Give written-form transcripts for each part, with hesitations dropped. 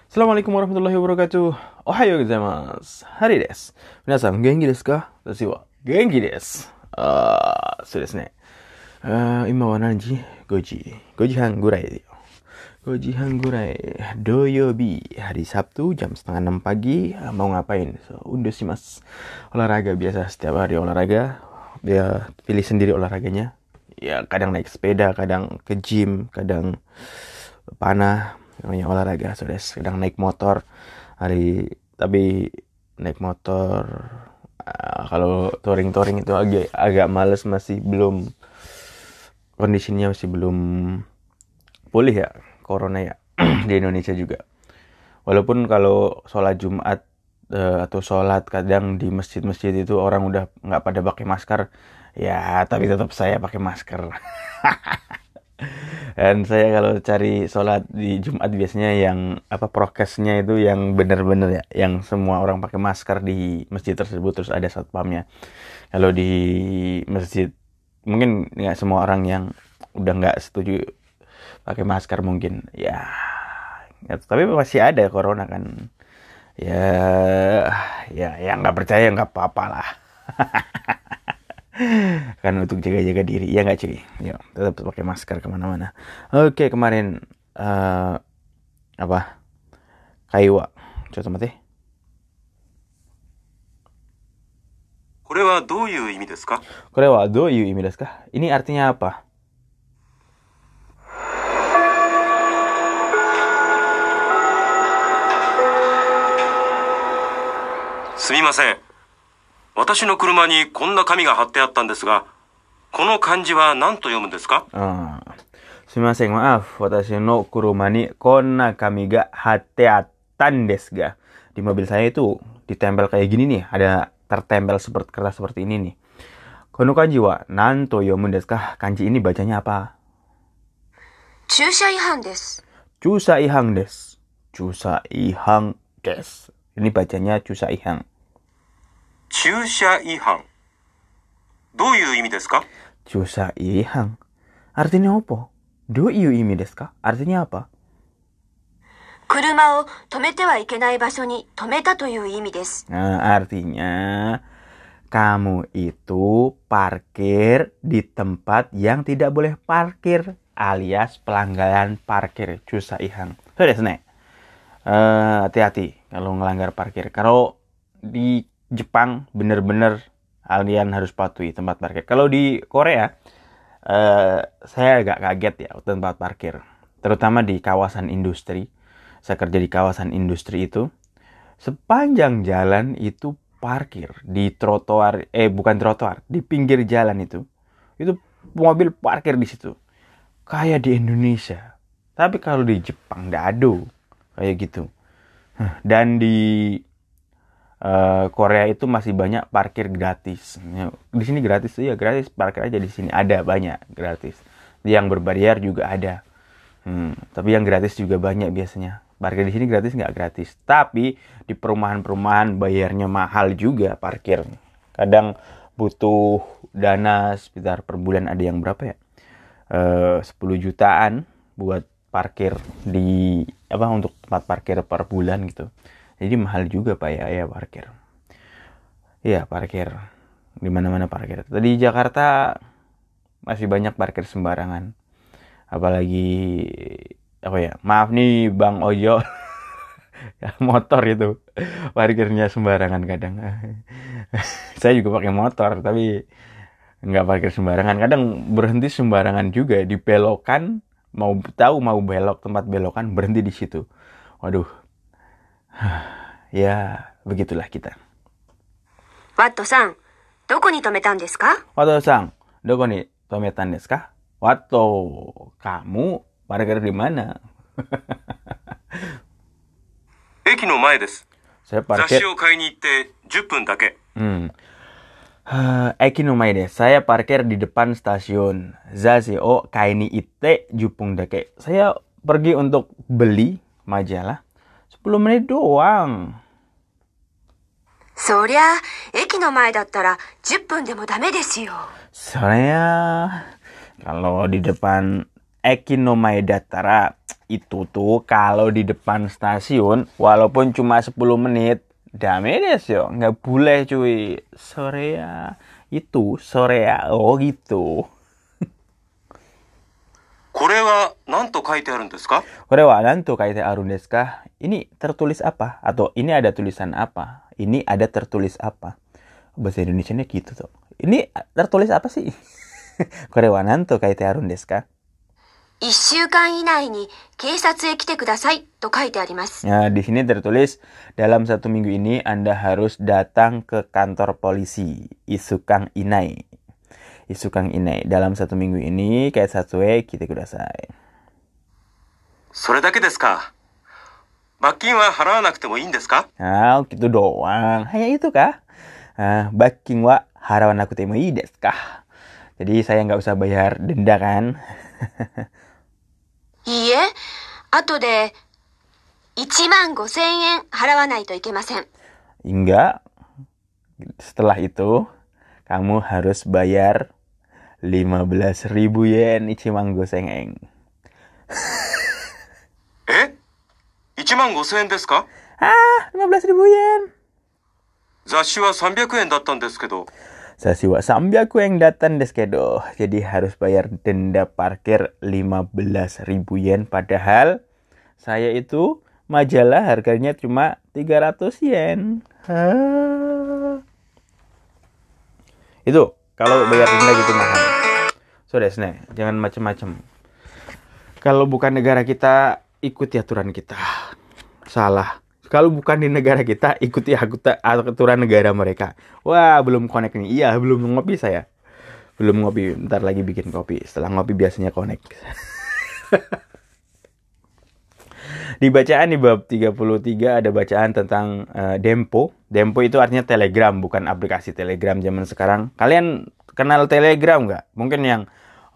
Assalamualaikum warahmatullahi wabarakatuh. Ohayo gozaimasu. Hari desu. Minasan, genki desu ka? Watashi wa genki desu.そうですね。今は何時 ?5 時。5時半ぐらいだよ。5時半ぐらい。土曜日、hari Sabtu, jam setengah 6 pagi. Mau ngapain? Undo shimasu. Olahraga biasa, setiap hari olahraga. Dia pilih sendiri olahraganya. Ya, kadang naik sepeda, kadang ke gym, kadang panah. Namanya olahraga, kadang naik motor. Tapi naik motor kalau touring itu agak males, masih belum, kondisinya masih belum pulih ya, corona ya. Di Indonesia juga. Walaupun kalau sholat Jumat atau sholat kadang di masjid-masjid itu orang udah nggak pada pakai masker, ya tapi tetap saya pakai masker. Dan saya kalau cari sholat di Jumat biasanya yang prokesnya itu yang benar-benar ya, yang semua orang pakai masker di masjid tersebut, terus ada satpamnya. Kalau di masjid mungkin nggak semua orang yang udah nggak setuju pakai masker mungkin ya, tapi masih ada corona kan. Ya nggak percaya nggak apa-apa lah. Kan untuk jaga-jaga diri, ya nggak cuy? Ya, tetap pakai masker kemana-mana. Oke, kemarin Kaiwa, coba mati. これはどういう意味ですか? Korewa do yu imi desu ka? Ini artinya apa? すみません。私の車にこんな紙が貼ってあったんですが、この漢字は何と読むんですか? Sumimasen, maaf. Watashi no kuruma ni konna kami ga hatte attan desu ga. Di mobil saya itu ditempel kayak gini nih, ada tertempel seperti kertas seperti ini nih. Kono kanji wa nanto yomun desu ka? Kanji ini bacanya apa? 駐車違反です。 Chusa ihang desu. Chusa ihang desu. Ini bacanya chusa ihang. 駐車違反。どういう意味ですか? Chusa ihang. Artinya apa? Do you imi desu ka? Artinya apa? 車を止めてはいけない場所に止めたという意味です。 Artinya kamu itu parkir di tempat yang tidak boleh parkir, alias pelanggaran parkir. Chusa ihang. So desu ne. Hati-hati kalau ngelanggar parkir. Kalau di Jepang bener-bener kalian harus patuhi tempat parkir. Kalau di Korea saya agak kaget ya tempat parkir, terutama di kawasan industri. Saya kerja di kawasan industri itu, sepanjang jalan itu parkir di trotoar, bukan trotoar, di pinggir jalan itu mobil parkir di situ kayak di Indonesia. Tapi kalau di Jepang nggak ada kayak gitu. Dan di Korea itu masih banyak parkir gratis. Di sini gratis ya, gratis parkir aja di sini, ada banyak gratis. Yang berbayar juga ada. Tapi yang gratis juga banyak biasanya. Parkir di sini gratis nggak gratis. Tapi di perumahan-perumahan bayarnya mahal juga parkir. Kadang butuh dana sekitar per bulan, ada yang berapa ya? 10 jutaan buat parkir di untuk tempat parkir per bulan gitu. Jadi mahal juga Pak ya parkir. Iya, parkir. Di mana-mana parkir. Tadi di Jakarta masih banyak parkir sembarangan. Apalagi maaf nih Bang Ojo. Motor itu parkirnya sembarangan kadang. Saya juga pakai motor tapi nggak parkir sembarangan. Kadang berhenti sembarangan juga di belokan, mau belok tempat belokan berhenti di situ. Waduh. Ya, begitulah kita. ワットさん、どこに止めたんですか? Watto-san, doko ni tometan desu ka? Watto, kamu parkir di mana? 駅の前です。 Saya 雑 parkir. 誌を買いに行って10分だけ。 Eki no mae desu. Saya parkir di depan stasiun. Zashi o kai ni itte jupung dake. Saya pergi untuk beli majalah 10 menit doang. そりゃ、駅の前だったら10分でもダメですよ。 Soalnya kalau di depan Eki no mae dattara itu tuh kalau di depan stasiun, walaupun cuma 10 menit, dame des yo, nggak boleh cuy. Sorea, itu Sorea, oh gitu. これは何と書いてあるんですか？ Kore wa nanto kaite arun desu ka? Ini tertulis apa? Atau ini ada tulisan apa? Ini ada tertulis apa? Bahasa Indonesianya gitu tuh. Ini tertulis apa sih? Kore wa nanto kaite arun desu ka? 1週間以内に警察へ来てくださいと書いてあります。 Nah, di sini tertulis dalam 1 minggu ini Anda harus datang ke kantor polisi. Isukang inai. Isukang inai. Dalam 1 minggu ini kaisatsu e kite kudasai. それだけですか。罰金は払わなくてもいいんですか？ Nah, gitu doang. Hanya itu kah? Baking wa harawanakute mo ii desu ka? Jadi saya nggak usah bayar denda kan? いいえ、後で15,000円払わないといけません。 Enggak. Setelah itu, kamu harus bayar 15.000 yen ichimango sengeng. え ?15,000 円ですか？ 15.000 yen. 雑誌は300円だったんですけど。 Sasiwa 300 yen datan desu kedo. Jadi harus bayar denda parkir 15.000 yen. Padahal saya itu majalah harganya cuma 300 yen. Itu kalau bayar denda gitu mahal. So desu ne, jangan macem-macem. Kalau bukan negara kita, ikuti aturan kita. Salah. Kalau bukan di negara kita, ikuti aturan negara mereka. Wah, belum connect nih. Iya, belum ngopi saya. Belum ngopi. Ntar lagi bikin kopi. Setelah ngopi biasanya connect. Di bacaan di bab 33 ada bacaan tentang Dempo. Dempo itu artinya Telegram, bukan aplikasi Telegram zaman sekarang. Kalian kenal Telegram nggak? Mungkin yang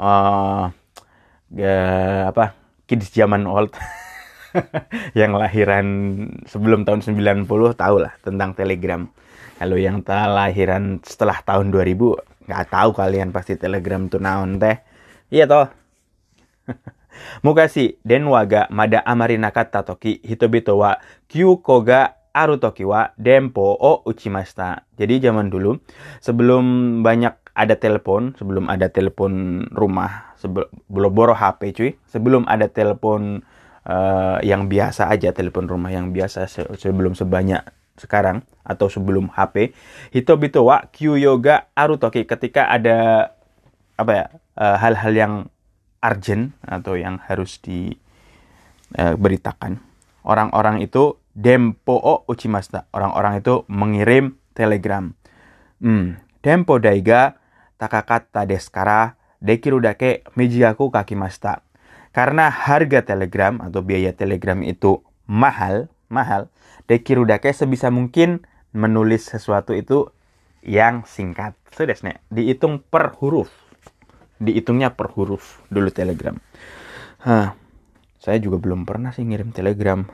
kids zaman old. Yang lahiran sebelum tahun 90 tahu lah tentang Telegram. Kalau yang lahiran setelah tahun 2000 nggak tahu kalian pasti Telegram tuh naon teh. Iya toh. Mugashi denwa ga mada amari nakatta toki hitobito wa kyuko ga aru toki wa denpo o uchimashita. Jadi zaman dulu sebelum banyak ada telepon, sebelum ada telepon rumah, belum boro HP cuy, sebelum ada telepon yang biasa aja, telepon rumah yang biasa sebelum sebanyak sekarang atau sebelum HP, hitobito wa kyuyo ga aru toki, ketika ada hal-hal yang urgent atau yang harus diberitakan, orang-orang itu denpo o uchimashita, orang-orang itu mengirim telegram. Denpo daiga takakatta desu kara dekiru dake mijigaku kakimashita. Karena harga telegram atau biaya telegram itu mahal, dekiru dake sebisa mungkin menulis sesuatu itu yang singkat. So desu ne, dihitung per huruf. Dihitungnya per huruf dulu telegram. Saya juga belum pernah sih ngirim telegram.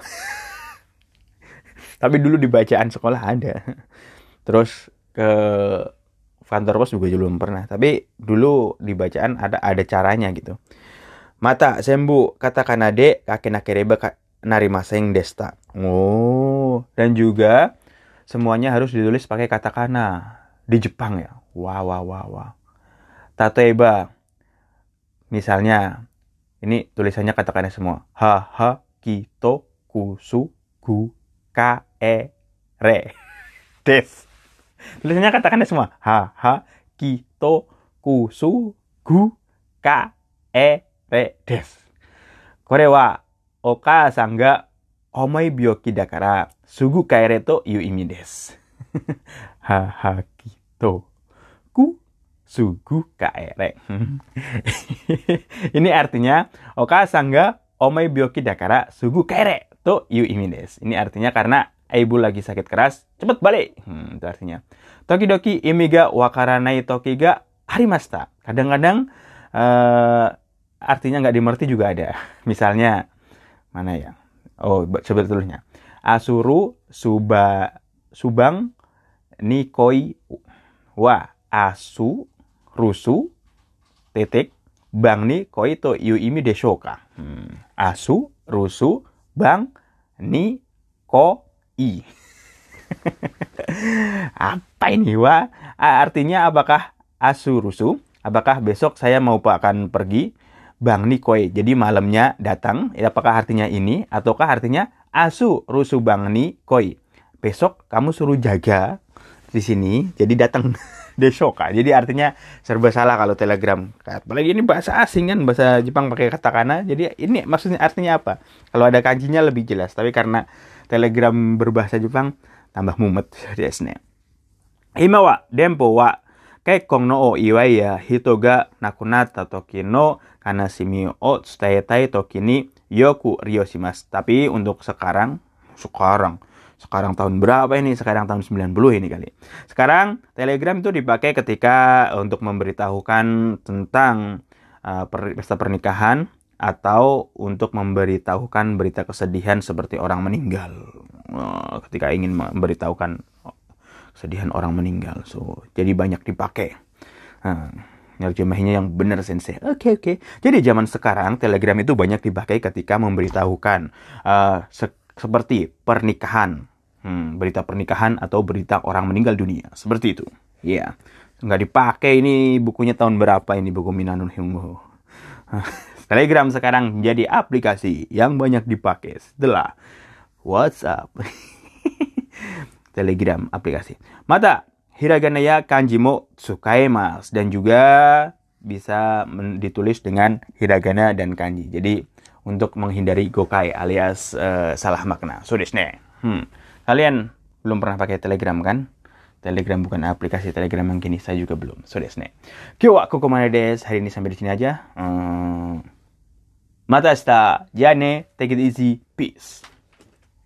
Tapi dulu di bacaan sekolah ada. Terus ke kantor pos juga belum pernah. Tapi dulu di bacaan ada caranya gitu. Mata sembu katakana de kakenakereba narimaseng desta. Oh, dan juga semuanya harus ditulis pakai katakana di Jepang ya. Wah. Tatoeba, misalnya ini tulisannya katakana semua. Ha kito kusu gu ka re des. Tulisannya katakana semua. Ha kito kusu gu ka re des. Kore wa okasan ga omoi byoki dakara sugu kaere to iu imi desu. Ha kito ku sugu kaere. Ini artinya okasan ga omoi byoki dakara sugu kaere to iu imi desu. Ini artinya karena ibu lagi sakit keras, cepet balik. Itu artinya. Tokidoki imi ga wakaranai toki ga arimashita. Kadang-kadang artinya nggak dimengerti juga ada. Misalnya, mana ya? Oh, sebetulnya. Asuru subang nikoi wa asu rusu titik bang ni koi to yu imi deshouka. Asu rusu, bang, ni, ko, i. Apa ini, Wa? Artinya apakah asu rusu? Apakah besok saya akan pergi? Bang ni koi. Jadi malamnya datang. Apakah artinya ini? Ataukah artinya asu rusu bang ni koi? Besok kamu suruh jaga di sini. Jadi datang desoka. Jadi artinya serba salah kalau Telegram. Apalagi ini bahasa asing kan, bahasa Jepang pakai katakana. Jadi ini maksudnya artinya apa? Kalau ada kanjinya lebih jelas. Tapi karena Telegram berbahasa Jepang, tambah mumet desu ne. Ima wa denpo wa kekkon no o iwai ya hito ga nakunatta toki no kanashimi o tsutetai toki ni yoku ryoshimasu. Tapi untuk sekarang tahun berapa ini? Sekarang tahun 90 ini kali. Sekarang Telegram itu dipakai ketika untuk memberitahukan tentang pesta pernikahan atau untuk memberitahukan berita kesedihan seperti orang meninggal. Ketika ingin memberitahukan kesedihan orang meninggal. So, jadi banyak dipakai. Nerjemahinya yang benar sensei. Oke. Jadi zaman sekarang Telegram itu banyak dipakai ketika memberitahukan seperti pernikahan. Berita pernikahan atau berita orang meninggal dunia. Seperti itu. Iya. Nggak dipakai ini bukunya tahun berapa ini, buku Minano Hyungo. Telegram sekarang menjadi aplikasi yang banyak dipakai setelah WhatsApp. Telegram aplikasi. Mata hiragana ya kanji mo tsukaemasu, dan juga bisa ditulis dengan hiragana dan kanji. Jadi untuk menghindari gokai alias salah makna. So desu ne. Kalian belum pernah pakai Telegram kan? Telegram bukan aplikasi, Telegram yang kini saya juga belum. So desu ne. Kyou wa kokomade desu. Hari ini sampai di sini aja. Mata shita. Ja ne. Take it easy. Peace.